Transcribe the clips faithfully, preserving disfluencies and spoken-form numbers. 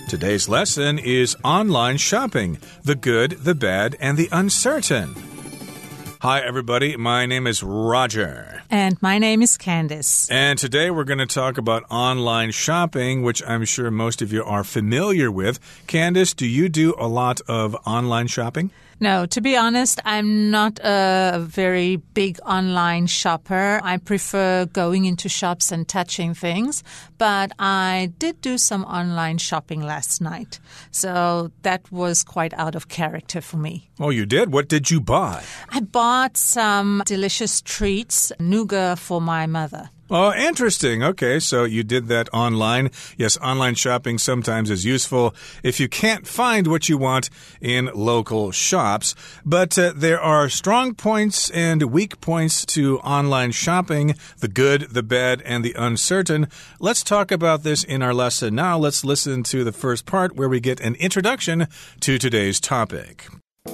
Today's lesson is online shopping, the good, the bad, and the uncertain. Hi, everybody. My name is Roger. And my name is Candice. And today we're going to talk about online shopping, which I'm sure most of you are familiar with. Candice, do you do a lot of online shopping? No, to be honest, I'm not a very big online shopper. I prefer going into shops and touching things, but I did do some online shopping last night. So that was quite out of character for me. Oh, you did? What did you buy? I bought some delicious treats, nougat for my mother. Oh, interesting. Okay, so you did that online. Yes, online shopping sometimes is useful if you can't find what you want in local shops. But uh, there are strong points and weak points to online shopping, the good, the bad, and the uncertain. Let's talk about this in our lesson. Now let's listen to the first part where we get an introduction to today's topic.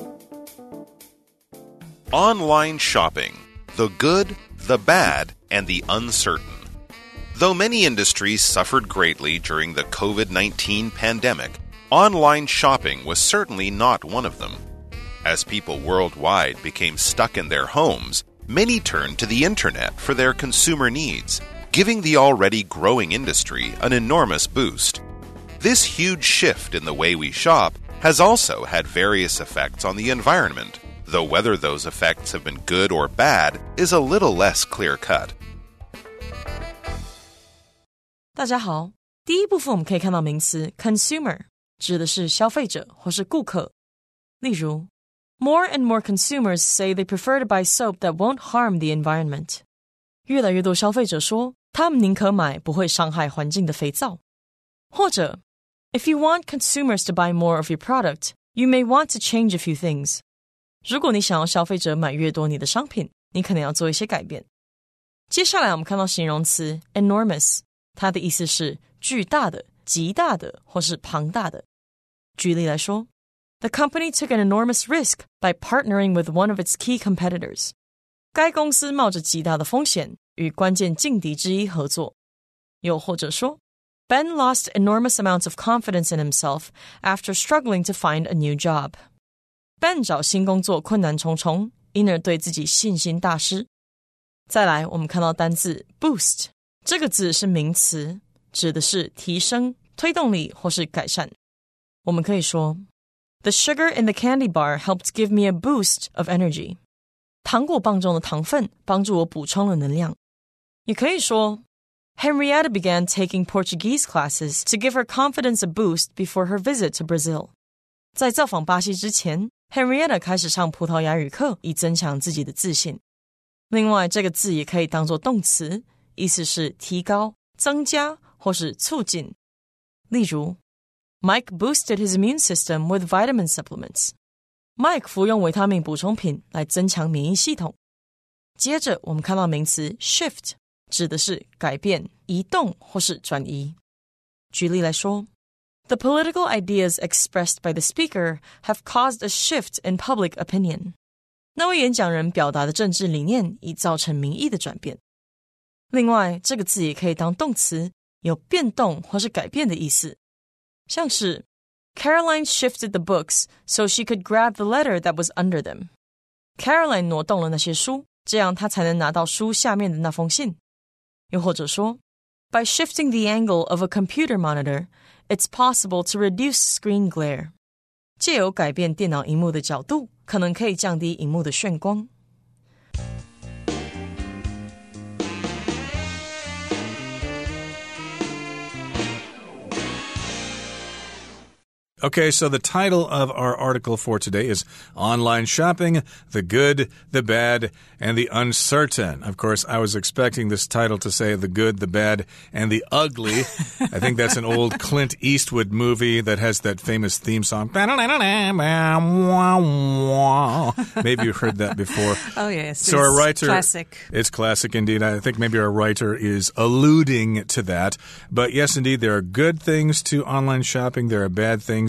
Online shopping, the good, the bad, and the uncertain. Though many industries suffered greatly during the COVID nineteen pandemic, online shopping was certainly not one of them. As people worldwide became stuck in their homes, many turned to the internet for their consumer needs, giving the already growing industry an enormous boost. This huge shift in the way we shop has also had various effects on the environment, though whether those effects have been good or bad is a little less clear-cut. 大家好，第一部分我们可以看到名词 consumer 指的是消费者或是顾客。例如 More and more consumers say they prefer to buy soap that won't harm the environment. 越来越多消費者說他們寧可買不會傷害環境的肥皂。或者 If you want consumers to buy more of your product, you may want to change a few things. 如果你想要消費者買越多你的商品，你可能要做一些改變。接下來我們看到形容詞 enormous， 它的意思是巨大的、極大的或是龐大的。舉例來說 The company took an enormous risk by partnering with one of its key competitors. 該公司冒着極大的風險與關鍵勁敵之一合作。又或者說 Ben lost enormous amounts of confidence in himself after struggling to find a new job. Ben 找新工作困難重重，因而對自己信心大失。再來，我們看到單字 boost， 這個字是名詞，指的是提升、推動力或是改善。我們可以說 The sugar in the candy bar helped give me a boost of energy. 糖果棒中的糖分幫助我補充了能量。也可以說 Henrietta began taking Portuguese classes to give her confidence a boost before her visit to Brazil. 在造訪巴西之前Henrietta 開始上葡萄牙語課，以增強自己的自信。另外，這個字也可以當作動詞，意思是提高、增加或是促進。例如 Mike boosted his immune system with vitamin supplements. Mike 服用維他命補充品來增強免疫系統。接着，我們看到名詞 shift， 指的是改變、移動或是轉移。舉例來說The political ideas expressed by the speaker have caused a shift in public opinion. 那位演講人表達的政治理念已造成民意的轉變。另外，這個字也可以當動詞，有變動或是改變的意思。像是 Caroline shifted the books so she could grab the letter that was under them. Caroline 挪動了那些書，這樣她才能拿到書下面的那封信。又或者說By shifting the angle of a computer monitor, it's possible to reduce screen glare. 藉由改變電腦螢幕的角度，可能可以降低螢幕的眩光。 Okay, so the title of our article for today is Online Shopping, the Good, the Bad, and the Uncertain. Of course, I was expecting this title to say the good, the bad, and the ugly. I think that's an old Clint Eastwood movie that has that famous theme song. Maybe you've heard that before. Oh, yes. So it's our writer, classic. It's classic indeed. I think maybe our writer is alluding to that. But yes, indeed, there are good things to online shopping. There are bad things.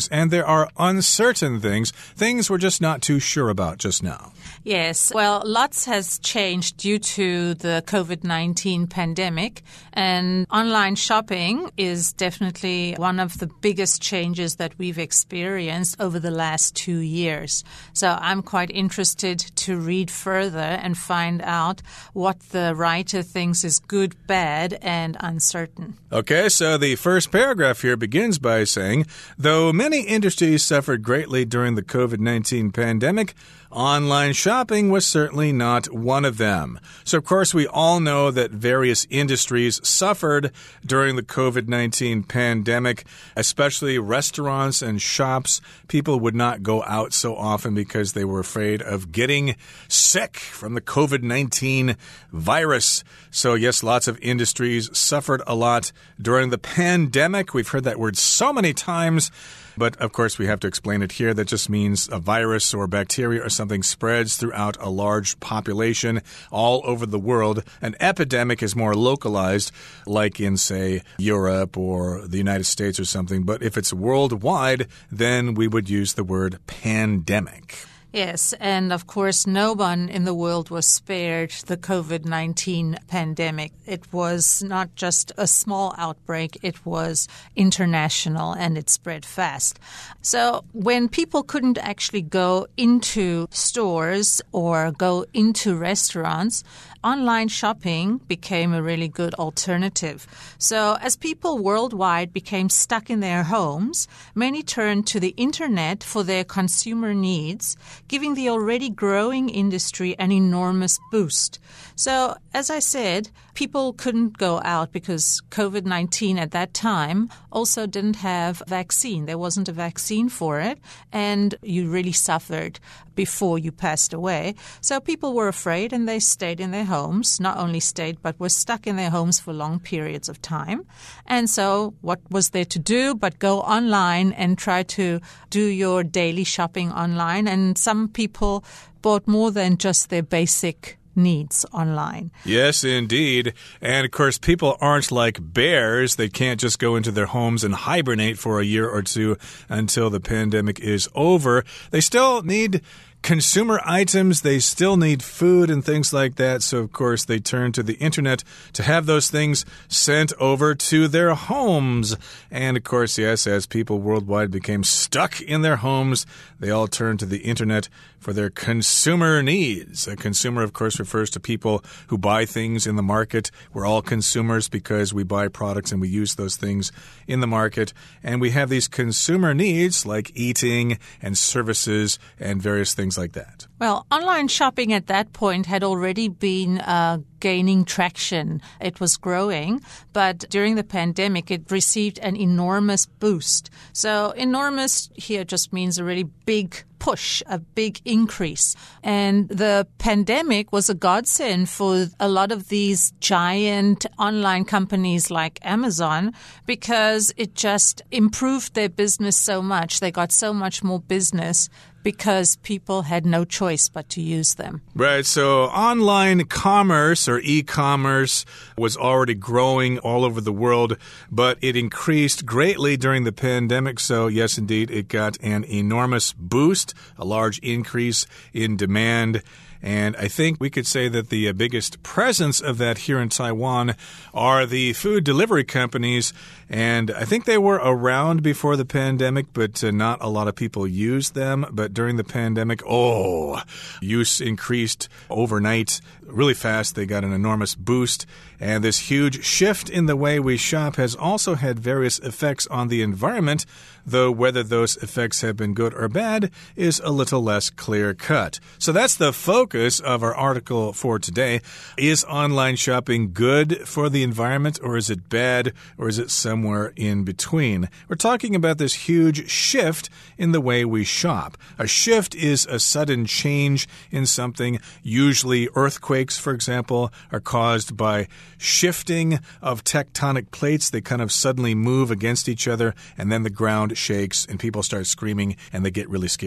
things, and there are uncertain things, things we're just not too sure about just now. Yes. Well, lots has changed due to the COVID nineteen pandemic, and online shopping is definitely one of the biggest changes that we've experienced over the last two years. So I'm quite interested to read further and find out what the writer thinks is good, bad, and uncertain. Okay, so the first paragraph here begins by saying, though many industries suffered greatly during the COVID nineteen pandemic, online shopping was certainly not one of them. So, of course, we all know that various industries suffered during the COVID nineteen pandemic, especially restaurants and shops. People would not go out so often because they were afraid of getting sick from the COVID nineteen virus. So, yes, lots of industries suffered a lot during the pandemic. We've heard that word so many times. But, of course, we have to explain it here. That just means a virus or bacteria or something spreads throughout a large population all over the world. An epidemic is more localized, like in, say, Europe or the United States or something. But if it's worldwide, then we would use the word pandemic. Yes, and of course, no one in the world was spared the COVID nineteen pandemic. It was not just a small outbreak, it was international and it spread fast. So when people couldn't actually go into stores or go into restaurants, online shopping became a really good alternative. So as people worldwide became stuck in their homes, many turned to the internet for their consumer needs, giving the already growing industry an enormous boost. So, as I said, people couldn't go out because COVID nineteen at that time also didn't have a vaccine. There wasn't a vaccine for it, and you really suffered before you passed away. So people were afraid and they stayed in their homes, not only stayed, but were stuck in their homes for long periods of time. And so what was there to do but go online and try to do your daily shopping online? And some people bought more than just their basic needs online. Yes, indeed. And of course, people aren't like bears. They can't just go into their homes and hibernate for a year or two until the pandemic is over. They still need consumer items, they still need food and things like that. So, of course, they turn to the internet to have those things sent over to their homes. And, of course, yes, as people worldwide became stuck in their homes, they all turned to the internet for their consumer needs. A consumer, of course, refers to people who buy things in the market. We're all consumers because we buy products and we use those things in the market. And we have these consumer needs like eating and services and various things like that. Well, online shopping at that point had already been uh, gaining traction. It was growing, but during the pandemic, it received an enormous boost. So enormous here just means a really big push, a big increase. And the pandemic was a godsend for a lot of these giant online companies like Amazon because it just improved their business so much. They got so much more business because people had no choice but to use them. Right. So online commerce or e-commerce was already growing all over the world, but it increased greatly during the pandemic. So yes, indeed, it got an enormous boost, a large increase in demand. And I think we could say that the biggest presence of that here in Taiwan are the food delivery companies. And I think they were around before the pandemic, but uh, not a lot of people used them. But during the pandemic, oh, use increased overnight really fast. They got an enormous boost. And this huge shift in the way we shop has also had various effects on the environment, though whether those effects have been good or bad is a little less clear-cut. So that's the focus of our article for today. Is online shopping good for the environment, or is it bad, or is it somewhere in between? We're talking about this huge shift in the way we shop. A shift is a sudden change in something. Usually earthquakes, for example, are caused by shifting of tectonic plates. They kind of suddenly move against each other, and then the ground shakes and people start screaming and they get really scared.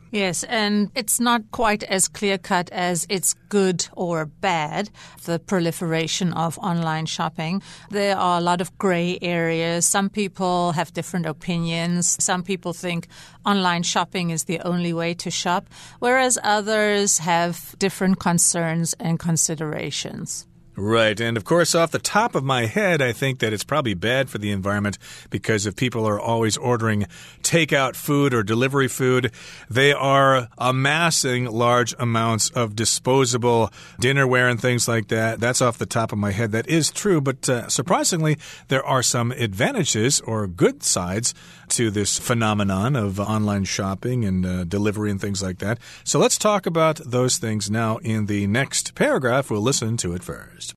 Yes, and it's not quite as clear-cut as it's good or bad, the proliferation of online shopping. There are a lot of gray areas. Some people have different opinions. Some people think online shopping is the only way to shop, whereas others have different concerns and considerations. Right. And of course, off the top of my head, I think that it's probably bad for the environment because if people are always ordering takeout food or delivery food, they are amassing large amounts of disposable dinnerware and things like that. That's off the top of my head. That is true. But uh, surprisingly, there are some advantages or good sides to this phenomenon of online shopping and uh, delivery and things like that. So let's talk about those things now in the next paragraph. We'll listen to it first.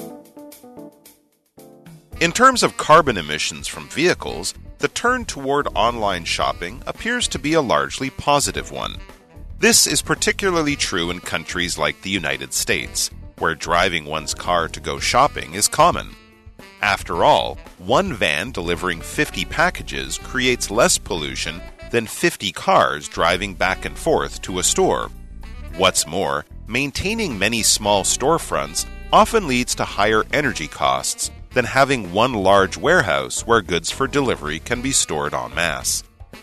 In terms of carbon emissions from vehicles, the turn toward online shopping appears to be a largely positive one. This is particularly true in countries like the United States, where driving one's car to go shopping is common. After all, one van delivering fifty packages creates less pollution than fifty cars driving back and forth to a store. What's more, maintaining many small storefronts often leads to higher energy costs than having one large warehouse where goods for delivery can be stored en masse.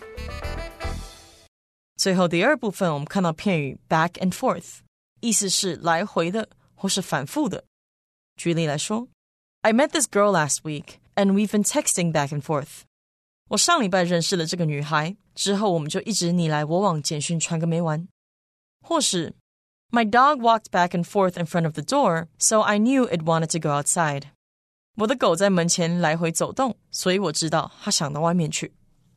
最後第二部分我們看到片語 back and forth 意思是來回的或是反覆的。舉例來說 I met this girl last week and we've been texting back and forth. 我上禮拜認識了這個女孩，之後我們就一直你來我往簡訊傳個沒完。或是 My dog walked back and forth in front of the door, so I knew it wanted to go outside. 我的狗在門前來回走動，所以我知道它想到外面去。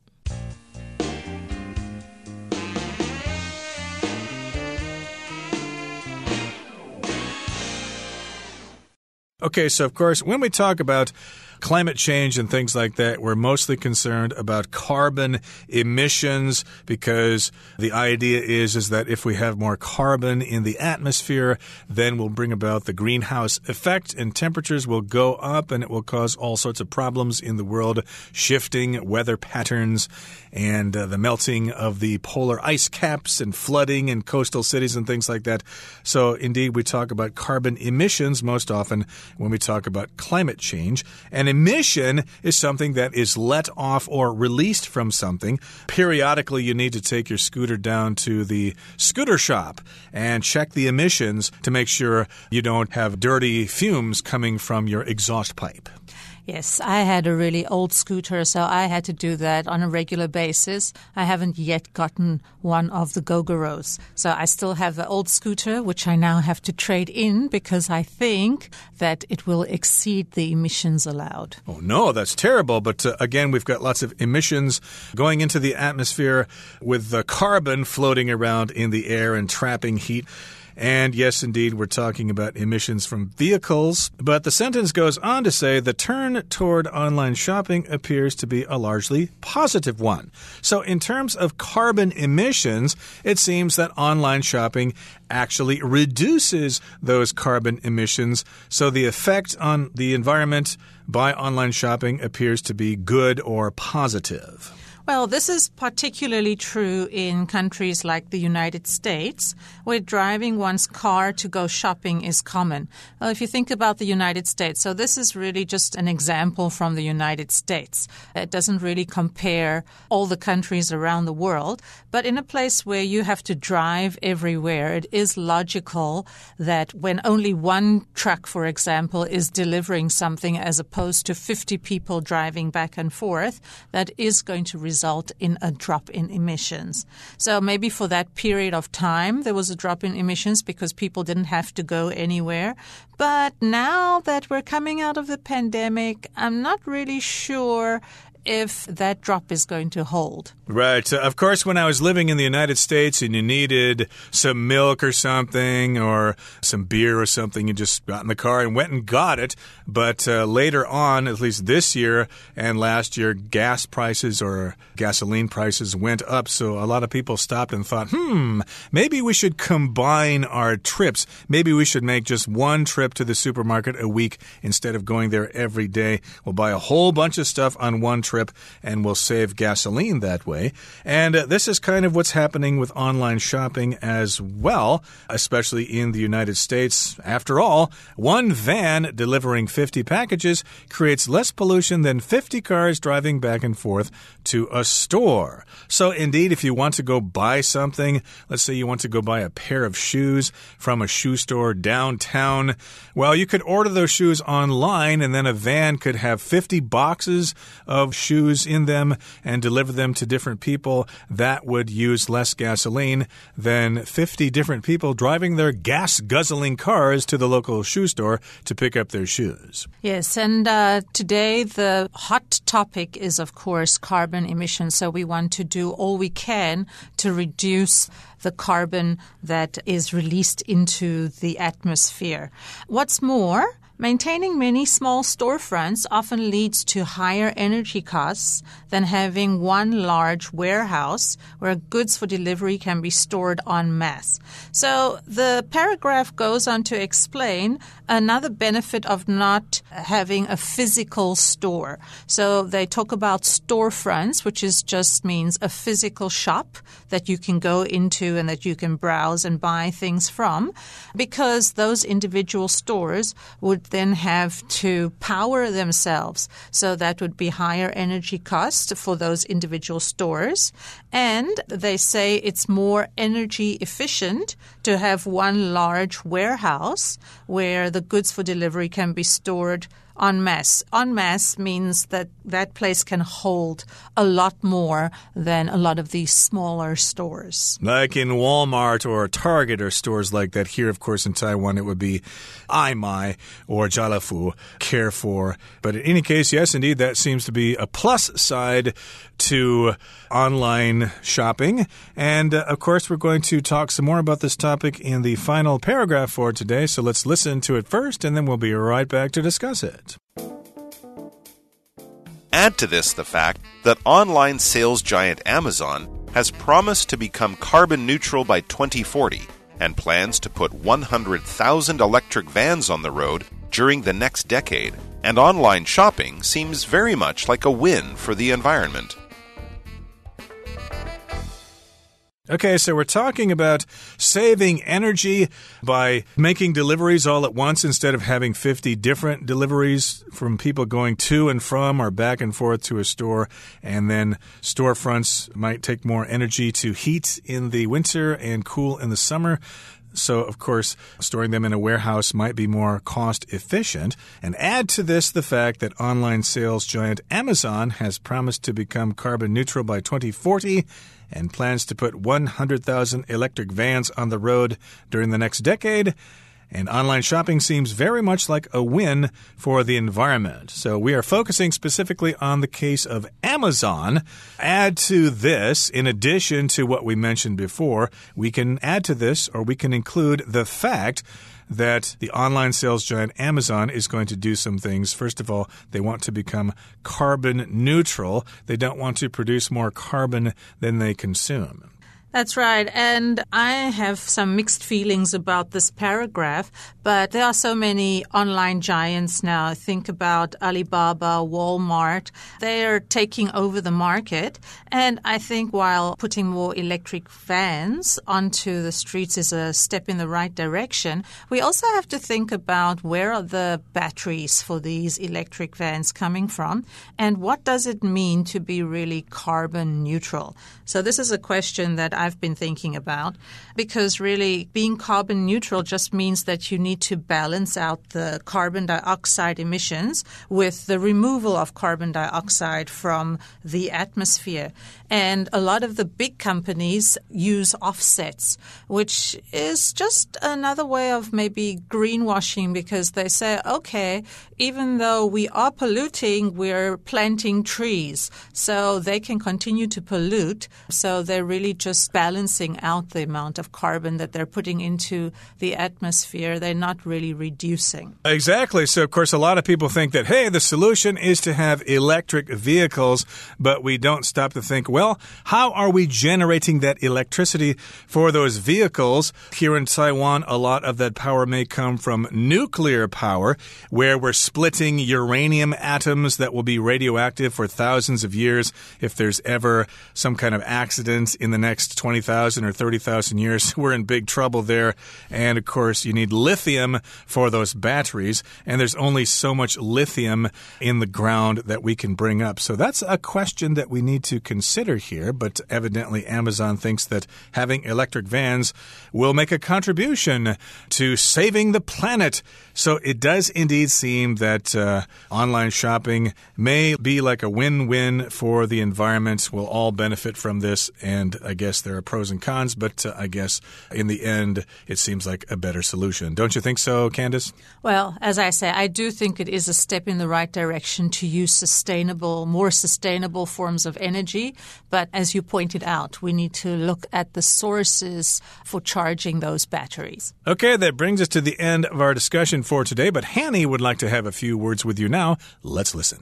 Okay, so of course, when we talk about climate change and things like that, we're mostly concerned about carbon emissions because the idea is, is that if we have more carbon in the atmosphere, then we'll bring about the greenhouse effect and temperatures will go up and it will cause all sorts of problems in the world, shifting weather patterns and uh, the melting of the polar ice caps and flooding in coastal cities and things like that. So indeed, we talk about carbon emissions most often when we talk about climate change. And emission is something that is let off or released from something. Periodically, you need to take your scooter down to the scooter shop and check the emissions to make sure you don't have dirty fumes coming from your exhaust pipe. Yes, I had a really old scooter, so I had to do that on a regular basis. I haven't yet gotten one of the Gogoros. So I still have the old scooter, which I now have to trade in because I think that it will exceed the emissions allowed. Oh, no, that's terrible. But uh, again, we've got lots of emissions going into the atmosphere with the carbon floating around in the air and trapping heat. And yes, indeed, we're talking about emissions from vehicles. But the sentence goes on to say the turn toward online shopping appears to be a largely positive one. So in terms of carbon emissions, it seems that online shopping actually reduces those carbon emissions. So the effect on the environment by online shopping appears to be good or positive. Well, this is particularly true in countries like the United States, where driving one's car to go shopping is common. Well, if you think about the United States, so this is really just an example from the United States. It doesn't really compare all the countries around the world, but in a place where you have to drive everywhere, it is logical that when only one truck, for example, is delivering something as opposed to fifty people driving back and forth, that is going to result result in a drop in emissions. So maybe for that period of time, there was a drop in emissions because people didn't have to go anywhere. But now that we're coming out of the pandemic, I'm not really sure if that drop is going to hold. Right. Uh, of course, when I was living in the United States and you needed some milk or something or some beer or something, you just got in the car and went and got it. But uh, later on, at least this year and last year, gas prices or gasoline prices went up. So a lot of people stopped and thought, hmm, maybe we should combine our trips. Maybe we should make just one trip to the supermarket a week instead of going there every day. We'll buy a whole bunch of stuff on one trip trip and will save gasoline that way. And uh, this is kind of what's happening with online shopping as well, especially in the United States. After all, one van delivering fifty packages creates less pollution than fifty cars driving back and forth to a store. So indeed, if you want to go buy something, let's say you want to go buy a pair of shoes from a shoe store downtown, well, you could order those shoes online, and then a van could have fifty boxes of shoes in them and deliver them to different people. That would use less gasoline than fifty different people driving their gas-guzzling cars to the local shoe store to pick up their shoes. Yes, and uh, today the hot topic is, of course, carbon emissions. So we want to do all we can to reduce the carbon that is released into the atmosphere. What's more, maintaining many small storefronts often leads to higher energy costs than having one large warehouse where goods for delivery can be stored en masse. So the paragraph goes on to explain another benefit of not having a physical store. So they talk about storefronts, which is just means a physical shop that you can go into and that you can browse and buy things from, because those individual stores would then have to power themselves. So that would be higher energy cost for those individual stores. And they say it's more energy efficient to have one large warehouse where the goods for delivery can be stored en masse. En masse means that that place can hold a lot more than a lot of these smaller stores. Like in Walmart or Target or stores like that. Here, of course, in Taiwan, it would be Aimai or Jalafu, Carrefour. But in any case, yes, indeed, that seems to be a plus side to online shopping. And, uh, of course, we're going to talk some more about this topic in the final paragraph for today. So let's listen to it first, and then we'll be right back to discuss it. Add to this the fact that online sales giant Amazon has promised to become carbon neutral by twenty forty and plans to put one hundred thousand electric vans on the road during the next decade. And online shopping seems very much like a win for the environment. Okay, so we're talking about saving energy by making deliveries all at once instead of having fifty different deliveries from people going to and from or back and forth to a store. And then storefronts might take more energy to heat in the winter and cool in the summer. So, of course, storing them in a warehouse might be more cost efficient. And add to this the fact that online sales giant Amazon has promised to become carbon neutral by twenty forty and plans to put one hundred thousand electric vans on the road during the next decade. And online shopping seems very much like a win for the environment. So we are focusing specifically on the case of Amazon. Add to this, in addition to what we mentioned before, we can add to this, or we can include the fact that the online sales giant Amazon is going to do some things. First of all, they want to become carbon neutral. They don't want to produce more carbon than they consume. That's right. And I have some mixed feelings about this paragraph, but there are so many online giants now. Think about Alibaba, Walmart. They are taking over the market. And I think while putting more electric vans onto the streets is a step in the right direction, we also have to think about where are the batteries for these electric vans coming from, and what does it mean to be really carbon neutral? So this is a question that I've been thinking about, because really being carbon neutral just means that you need to balance out the carbon dioxide emissions with the removal of carbon dioxide from the atmosphere. And a lot of the big companies use offsets, which is just another way of maybe greenwashing, because they say, okay, even though we are polluting, we're planting trees, so they can continue to pollute. So they really just just balancing out the amount of carbon that they're putting into the atmosphere. They're not really reducing. Exactly. So, of course, a lot of people think that, hey, the solution is to have electric vehicles, but we don't stop to think, well, how are we generating that electricity for those vehicles? Here in Taiwan, a lot of that power may come from nuclear power, where we're splitting uranium atoms that will be radioactive for thousands of years. If there's ever some kind of accident in the next twenty thousand or thirty thousand years, we're in big trouble there. And, of course, you need lithium for those batteries, and there's only so much lithium in the ground that we can bring up. So that's a question that we need to consider here, but evidently Amazon thinks that having electric vans will make a contribution to saving the planet. So it does indeed seem that uh, online shopping may be like a win-win for the environment. We'll all benefit from this, and I guess there are pros and cons, but uh, I guess in the end, it seems like a better solution. Don't you think so, Candice? Well, as I say, I do think it is a step in the right direction to use sustainable, more sustainable forms of energy. But as you pointed out, we need to look at the sources for charging those batteries. Okay, that brings us to the end of our discussion for today, but Hanny would like to have a few words with you now. Let's listen.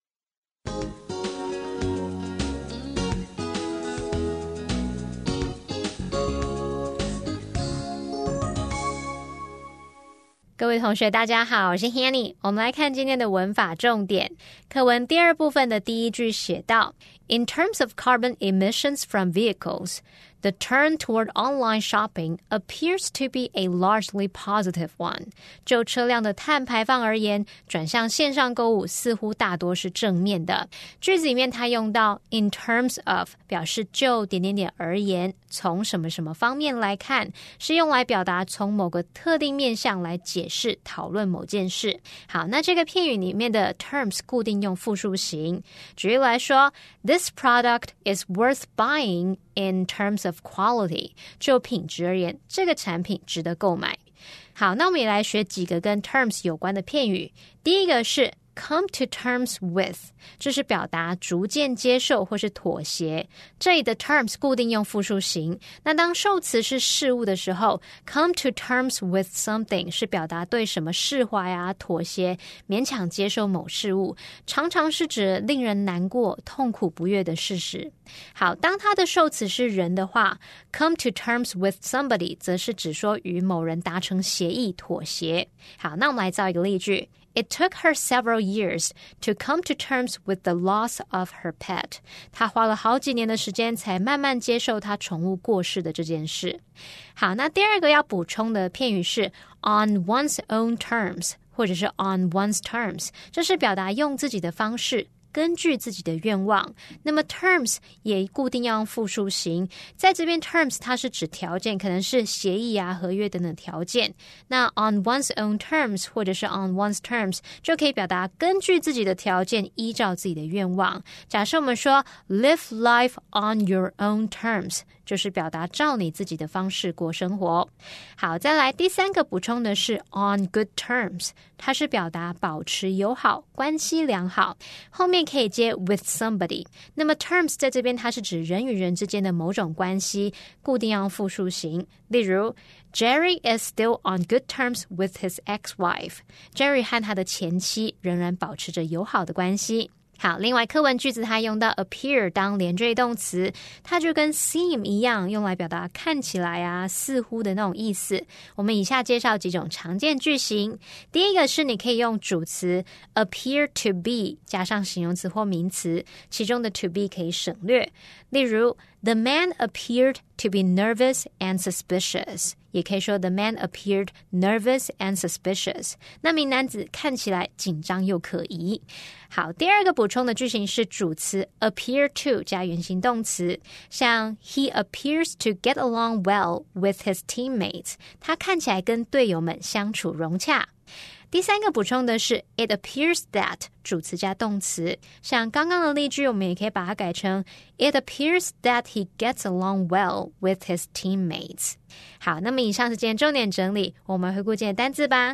「各位同学大家好，我是 Hanny。 我们来看今天的文法重点。課文第二部分的第一句寫到 In terms of carbon emissions from vehicles, the turn toward online shopping appears to be a largely positive one. 就車輛的碳排放而言，轉向線上購物似乎大多是正面的。句子裡面它用到 in terms of 表示就點點點而言，從什麼什麼方面來看，是用來表達從某個特定面向來解釋討論某件事。好，那這個片語裡面的 terms 固定用複數形。舉例來說 This product is worth buying in terms of quality. 就品質而言，這個產品值得購買。好，那我們也來學幾個跟 terms 有關的片語。第一個是come to terms with， 這是表達逐漸接受或是妥協。這裡的 terms 固定用複數形。那當受詞是事物的時候 come to terms with something 是表達對什麼釋懷啊、妥協、勉強接受某事物，常常是指令人難過、痛苦不悅的事實。好，當它的受詞是人的話 come to terms with somebody 則是指說與某人達成協議、妥協。好，那我們來造一個例句。It took her several years to come to terms with the loss of her pet. 她花了好幾年的時間才慢慢接受她寵物過世的這件事。好，那第二個要補充的片語是 on one's own terms 或者是 on one's terms， 這是表達用自己的方式根據自己的願望。那麼 terms 也固定要用複數形，在這邊 terms 它是指條件，可能是協議啊、合約等等條件。那 on one's own terms 或者是 on one's terms 就可以表達根據自己的條件，依照自己的願望。假設我們說 live life on your own terms， 就是表達照你自己的方式過生活。好，再來第三個補充的是 on good terms， 它是表達保持友好、關係良好，後面可以接 with somebody。 那麼 terms 在這邊它是指人與人之間的某種關係，固定要用複數形。例如 Jerry is still on good terms with his ex-wife。 Jerry 和他的前妻仍然保持着友好的關係。好，另外課文句子它用到 appear 當連綴動詞，它就跟 seem 一樣，用來表達看起來啊、似乎的那種意思。我們以下介紹幾種常見句型。第一個是你可以用主詞 appear to be 加上形容詞或名詞，其中的 to be 可以省略。例如 The man appeared to be nervous and suspicious， 也可以說 The man appeared nervous and suspicious。 那名男子看起來緊張又可疑。好，第二個補充的句型是主詞 appear to 加原形動詞，像 He appears to get along well with his teammates， 他看起來跟隊友們相處融洽。第三個補充的是 It appears that 主詞加動詞，像剛剛的例句我們也可以把它改成 It appears that he gets along well with his teammates。 好，那麼以上是今天重點整理，我們回顧今天的單字吧。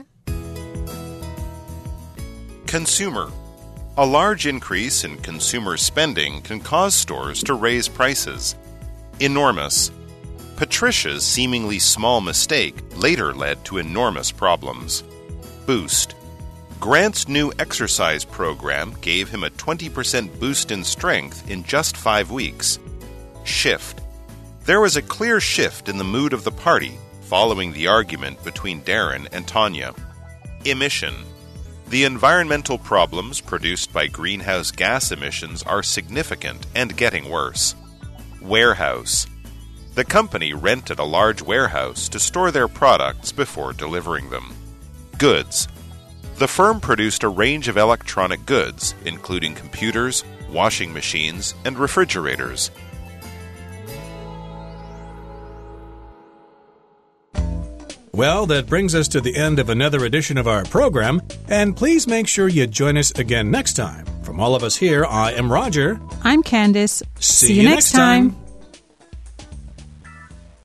Consumer. A large increase in consumer spending can cause stores to raise prices. Enormous. Patricia's seemingly small mistake later led to enormous problems. Boost. Grant's new exercise program gave him a twenty percent boost in strength in just five weeks. Shift. There was a clear shift in the mood of the party following the argument between Darren and Tanya. Emission. The environmental problems produced by greenhouse gas emissions are significant and getting worse. Warehouse. The company rented a large warehouse to store their products before delivering them. Goods. The firm produced a range of electronic goods, including computers, washing machines, and refrigerators. Well, that brings us to the end of another edition of our program, and please make sure you join us again next time. From all of us here, I am Roger. I'm Candice. See, See you you next next time. time.